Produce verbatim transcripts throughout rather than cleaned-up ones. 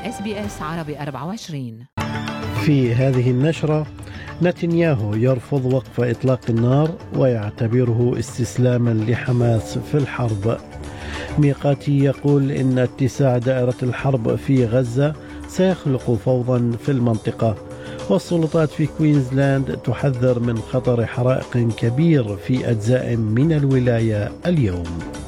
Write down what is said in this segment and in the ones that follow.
إس بي إس عربي أربعة وعشرين. في هذه النشرة: نتنياهو يرفض وقف إطلاق النار ويعتبره استسلاما لحماس في الحرب. ميقاتي يقول إن اتساع دائرة الحرب في غزة سيخلق فوضى في المنطقة. والسلطات في كوينزلاند تحذر من خطر حرائق كبير في أجزاء من الولاية اليوم.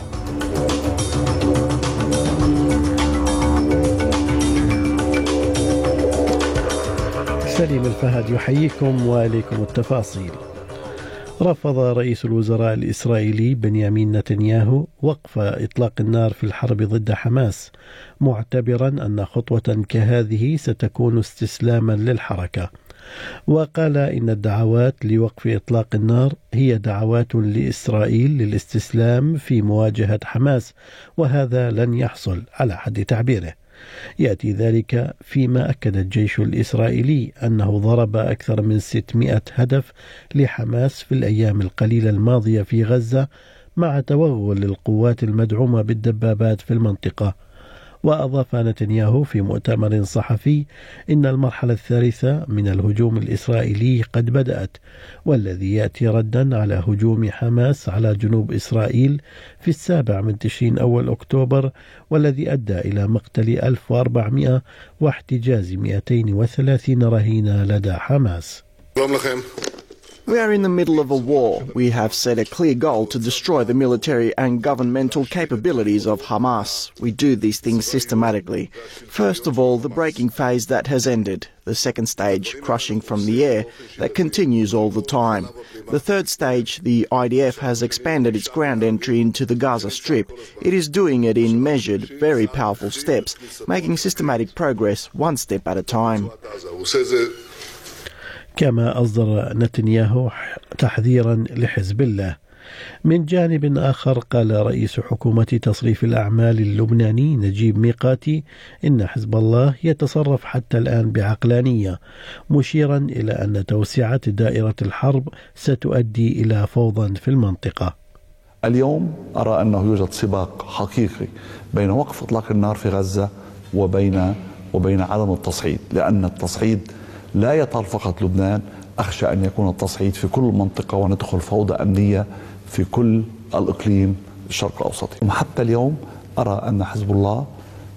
سليم الفهد يحييكم وإليكم التفاصيل. رفض رئيس الوزراء الإسرائيلي بنيامين نتنياهو وقف إطلاق النار في الحرب ضد حماس، معتبرا أن خطوة كهذه ستكون استسلاما للحركة. وقال إن الدعوات لوقف إطلاق النار هي دعوات لإسرائيل للاستسلام في مواجهة حماس، وهذا لن يحصل على حد تعبيره. يأتي ذلك فيما أكد الجيش الإسرائيلي أنه ضرب أكثر من ستمائة هدف لحماس في الأيام القليلة الماضية في غزة، مع توغل القوات المدعومة بالدبابات في المنطقة. وأضاف نتنياهو في مؤتمر صحفي إن المرحلة الثالثة من الهجوم الإسرائيلي قد بدأت، والذي يأتي ردا على هجوم حماس على جنوب إسرائيل في السابع من تشرين أول أكتوبر، والذي أدى إلى مقتل ألف وأربعمائة واحتجاز مئتين وثلاثين رهينة لدى حماس. We are in the middle of a war. We have set a clear goal to destroy the military and governmental capabilities of Hamas. We do these things systematically. First of all, the breaking phase that has ended. The second stage, crushing from the air, that continues all the time. The third stage, the I D F has expanded its ground entry into the Gaza Strip. It is doing it in measured, very powerful steps, making systematic progress one step at a time. كما أصدر نتنياهو تحذيرا لحزب الله. من جانب آخر، قال رئيس حكومة تصريف الأعمال اللبناني نجيب ميقاتي إن حزب الله يتصرف حتى الآن بعقلانية، مشيرا إلى أن توسعة دائرة الحرب ستؤدي إلى فوضى في المنطقة. اليوم أرى أنه يوجد سباق حقيقي بين وقف إطلاق النار في غزة وبين وبين عدم التصعيد، لأن التصعيد لا يطال فقط لبنان، أخشى أن يكون التصعيد في كل المنطقة وندخل فوضى أمنية في كل الإقليم الشرق الأوسطي. حتى اليوم أرى أن حزب الله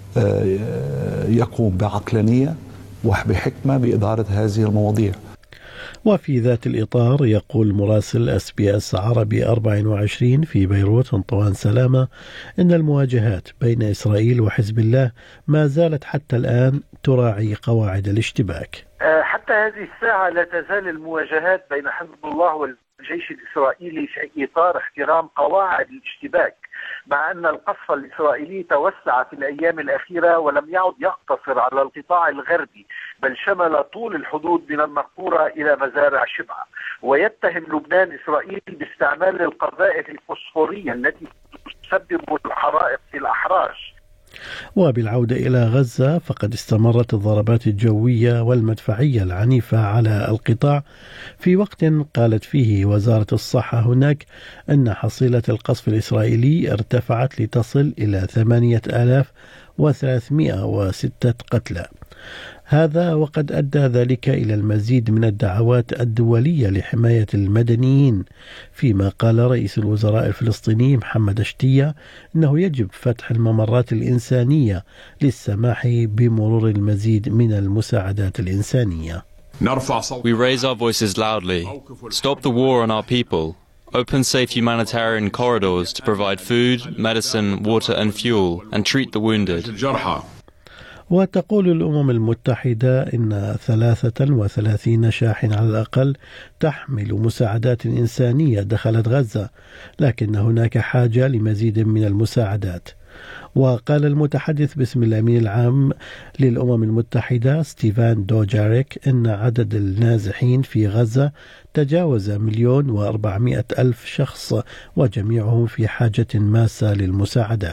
يقوم بعقلانية وبحكمة بإدارة هذه المواضيع. وفي ذات الإطار، يقول مراسل إس بي إس عربي أربعة وعشرين في بيروت أنطوان سلامة إن المواجهات بين إسرائيل وحزب الله ما زالت حتى الآن تراعي قواعد الاشتباك. حتى هذه الساعة لا تزال المواجهات بين حزب الله والجيش الإسرائيلي في إطار احترام قواعد الاشتباك، مع أن القصف الإسرائيلي توسع في الأيام الأخيرة ولم يعد يقتصر على القطاع الغربي، بل شمل طول الحدود من النقورة إلى مزارع شبعة. ويتهم لبنان إسرائيل باستعمال القذائف الفوسفورية التي تسبب الحرائق في الأحراش. وبالعودة إلى غزة، فقد استمرت الضربات الجوية والمدفعية العنيفة على القطاع، في وقت قالت فيه وزارة الصحة هناك أن حصيلة القصف الإسرائيلي ارتفعت لتصل إلى ثمانية آلاف وثلاثمائة وستة قتلى. هذا وقد أدى ذلك إلى المزيد من الدعوات الدولية لحماية المدنيين، فيما قال رئيس الوزراء الفلسطيني محمد شتية أنه يجب فتح الممرات الإنسانية للسماح بمرور المزيد من المساعدات الإنسانية. We raise our voices loudly. Stop the war on our people. Open safe humanitarian corridors to provide food, medicine, water and fuel, and treat the wounded. وتقول الأمم المتحدة إن ثلاثة وثلاثين شاحن على الأقل تحمل مساعدات إنسانية دخلت غزة، لكن هناك حاجة لمزيد من المساعدات. وقال المتحدث باسم الأمين العام للأمم المتحدة ستيفان دوجاريك إن عدد النازحين في غزة تجاوز مليون وأربعمائة ألف شخص، وجميعهم في حاجة ماسة للمساعدات.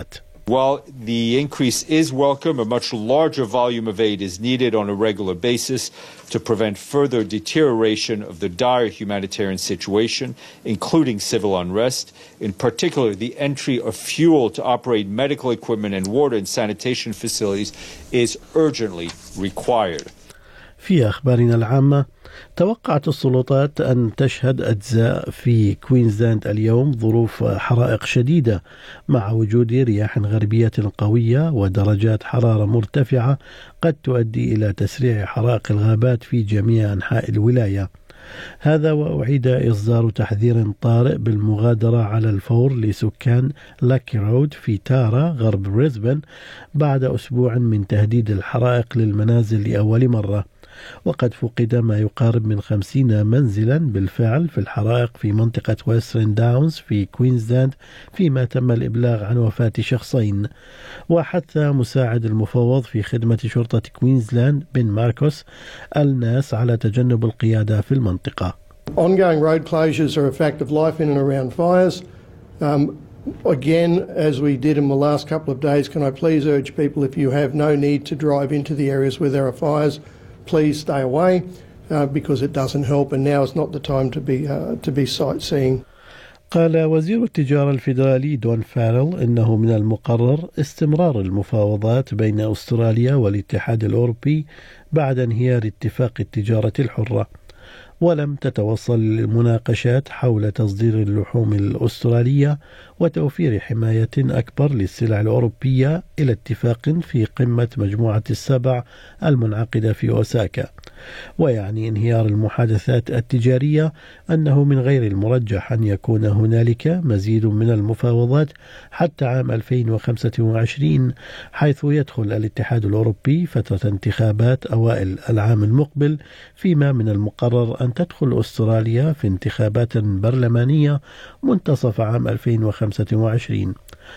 While the increase is welcome, a much larger volume of aid is needed on a regular basis to prevent further deterioration of the dire humanitarian situation, including civil unrest. In particular, the entry of fuel to operate medical equipment and water and sanitation facilities is urgently required. في أخبارنا العامة، توقعت السلطات أن تشهد أجزاء في كوينزلاند اليوم ظروف حرائق شديدة مع وجود رياح غربية قوية ودرجات حرارة مرتفعة قد تؤدي إلى تسريع حرائق الغابات في جميع أنحاء الولاية. هذا وأعيد إصدار تحذير طارئ بالمغادرة على الفور لسكان لاكي رود في تارا غرب بريسبن بعد أسبوع من تهديد الحرائق للمنازل لأول مرة. وقد فقد ما يقارب من خمسين منزلا بالفعل في الحرائق في منطقة ويسترن داونز في كوينزلاند، فيما تم الإبلاغ عن وفاة شخصين. وحث مساعد المفوض في خدمة شرطة كوينزلاند بن ماركوس الناس على تجنب القيادة في المنطقة. Ongoing road closures are a fact of life in and around fires. Um, again, as we did in the last couple of days, can I please urge people, if you have no need to drive into the areas where there are fires, please stay away uh, because it doesn't help, and now is not the time to be uh, to be sightseeing. قال وزير التجارة الفيدرالي دون فارل إنه من المقرر استمرار المفاوضات بين أستراليا والاتحاد الأوروبي بعد انهيار اتفاق التجارة الحرة، ولم تتوصل المناقشات حول تصدير اللحوم الأسترالية وتوفير حماية أكبر للسلع الأوروبية إلى اتفاق في قمة مجموعة السبع المنعقدة في أوساكا. ويعني انهيار المحادثات التجارية أنه من غير المرجح أن يكون هنالك مزيد من المفاوضات حتى عام ألفين وخمسة وعشرين، حيث يدخل الاتحاد الأوروبي فترة انتخابات أوائل العام المقبل، فيما من المقرر أن تدخل أستراليا في انتخابات برلمانية منتصف عام ألفين وخمسة وعشرين.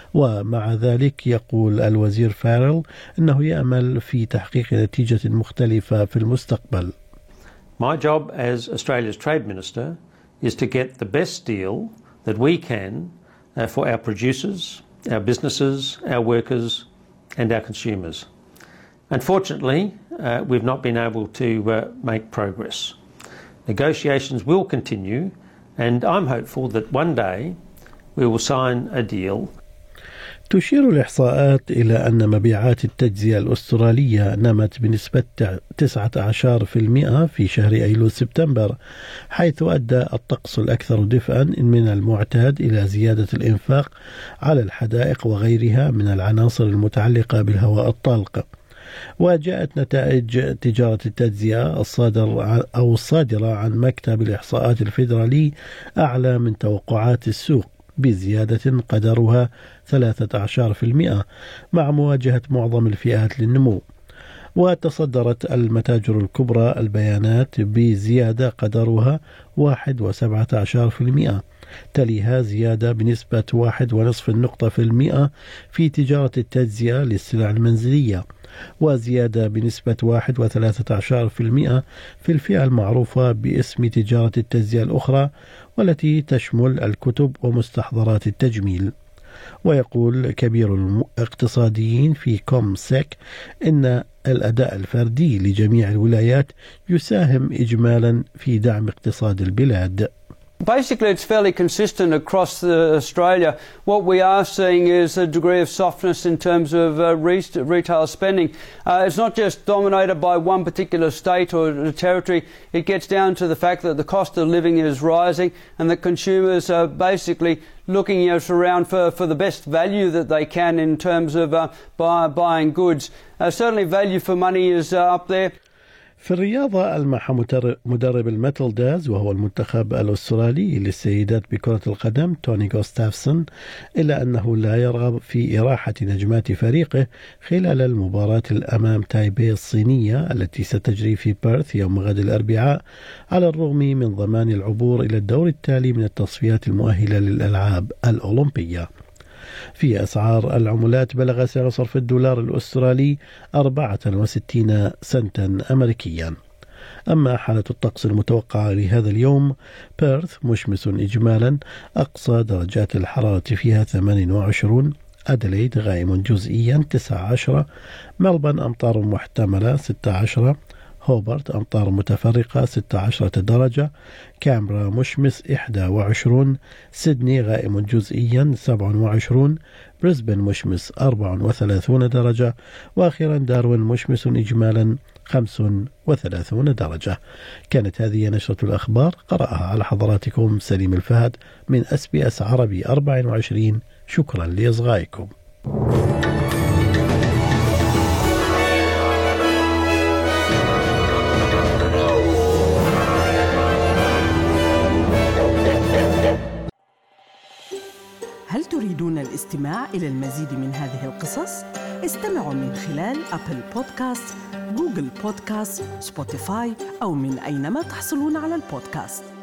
ومع ذلك يقول الوزير فارل أنه يأمل في تحقيق نتيجة مختلفة في المستقبل. My job as Australia's Trade Minister is to get the best deal that we can uh, for our producers, our businesses, our workers and our consumers. Unfortunately, uh, we've not been able to uh, make progress. Negotiations will continue, and I'm hopeful that one day we will sign a deal. تشير الإحصاءات إلى أن مبيعات التجزئة الأسترالية نمت بنسبة تسعة عشر بالمئة في شهر أيلول سبتمبر، حيث أدى الطقس الأكثر دفئا من المعتاد إلى زيادة الإنفاق على الحدائق وغيرها من العناصر المتعلقة بالهواء الطلق. وجاءت نتائج تجارة التجزئة الصادر أو الصادرة عن مكتب الإحصاءات الفيدرالي أعلى من توقعات السوق بزيادة قدرها ثلاثة عشر بالمئة مع مواجهة معظم الفئات للنمو. وتصدرت المتاجر الكبرى البيانات بزيادة قدرها واحد وسبعة عشر بالمئة، تليها زيادة بنسبة واحد ونصف النقطة في المئة في تجارة التجزئة للسلع المنزلية، وزيادة بنسبة واحد وثلاثة عشر بالمئة في الفئة المعروفة باسم تجارة التجزئة الأخرى، والتي تشمل الكتب ومستحضرات التجميل. ويقول كبير الاقتصاديين في كومسيك إن الأداء الفردي لجميع الولايات يساهم إجمالا في دعم اقتصاد البلاد. Basically, it's fairly consistent across the Australia. What we are seeing is a degree of softness in terms of uh, re retail spending. Uh, it's not just dominated by one particular state or territory. It gets down to the fact that the cost of living is rising and that consumers are basically looking you know, around for, for the best value that they can in terms of uh, buy, buying goods. Uh, certainly value for money is uh, up there. في الرياضة ألمح مدرب الميتلداز وهو المنتخب الأسترالي للسيدات بكرة القدم توني غوستافسون إلا أنه لا يرغب في إراحة نجمات فريقه خلال المباراة الأمام تايبي الصينية التي ستجري في بيرث يوم غد الأربعاء، على الرغم من ضمان العبور إلى الدور التالي من التصفيات المؤهلة للألعاب الأولمبية. في أسعار العملات بلغ سعر صرف الدولار الأسترالي أربعة وستين سنتا أمريكيا. أما حالة الطقس المتوقعة لهذا اليوم، بيرث مشمس إجمالا، أقصى درجات الحرارة فيها ثمانية وعشرين، أدليد غائم جزئيا تسعة عشر، ملبن أمطار محتملة ستة عشر، هوبرت أمطار متفرقة ستة عشرة درجة، كامبرا مشمس إحدى وعشرون، سيدني غائم جزئيا سبعة وعشرون، بريسبن مشمس أربعة وثلاثون درجة، وأخيرا داروين مشمس إجمالا خمسة وثلاثون درجة. كانت هذه نشرة الأخبار، قرأها على حضراتكم سليم الفهد من أس بي أس عربي أربعة وعشرين. شكرا لإصغائكم. هل تريدون الاستماع إلى المزيد من هذه القصص؟ استمعوا من خلال أبل بودكاست، جوجل بودكاست، سبوتيفاي أو من أينما تحصلون على البودكاست.